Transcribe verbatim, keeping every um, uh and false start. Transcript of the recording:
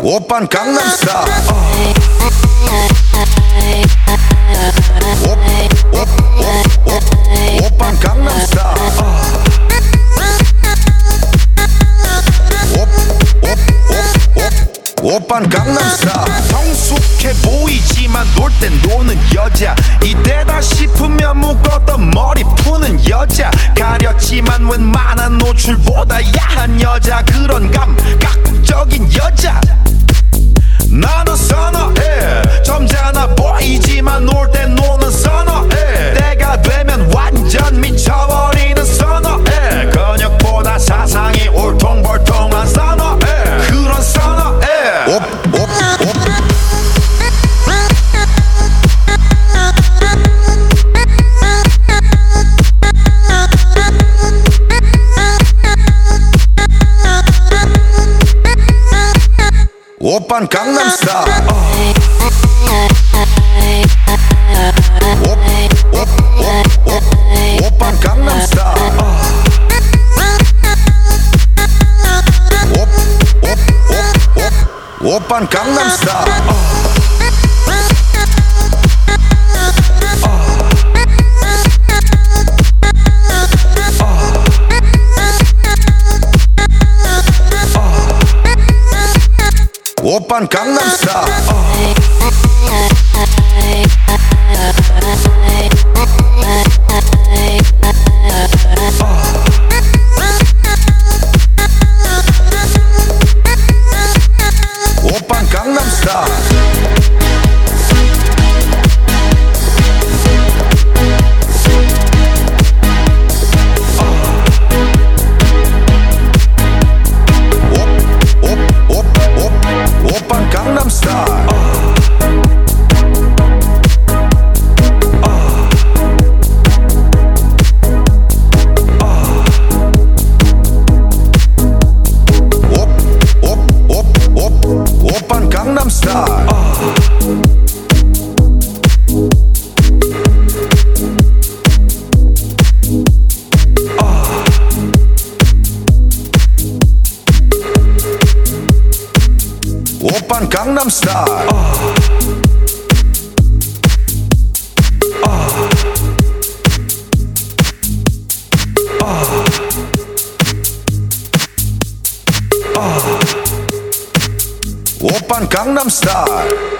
오빤 강남스타일. 오빤 강남스타일. 오빤 강남스타일. 성숙해 보이지만 놀 땐 노는 여자, 이때다 싶으면 묶었던 머리 푸는 여자, 가렸지만 웬만한 노출보다 야한 여자, 그런 감각적인 여자 나는 선호해. 점잖아 보이지만 놀 땐 노는 선호해. 때가 되면 완전 미쳐버리는 선호해. 근육보다 사상이 울퉁불퉁한 선호해. 그런 선호해. 옵, 옵, 옵. 오빤 강남스타일. 옵, 옵, 옵, 옵. 오빤 강남스타일. 옵, 옵, 옵, 옵. 오빤 강남스타일. 오빤 강남스타일. 오빤 강남스타일. 오빤 강남스타일. 오빤 강남스타일. 오빤 강남스타일. 오빤 강남스타일.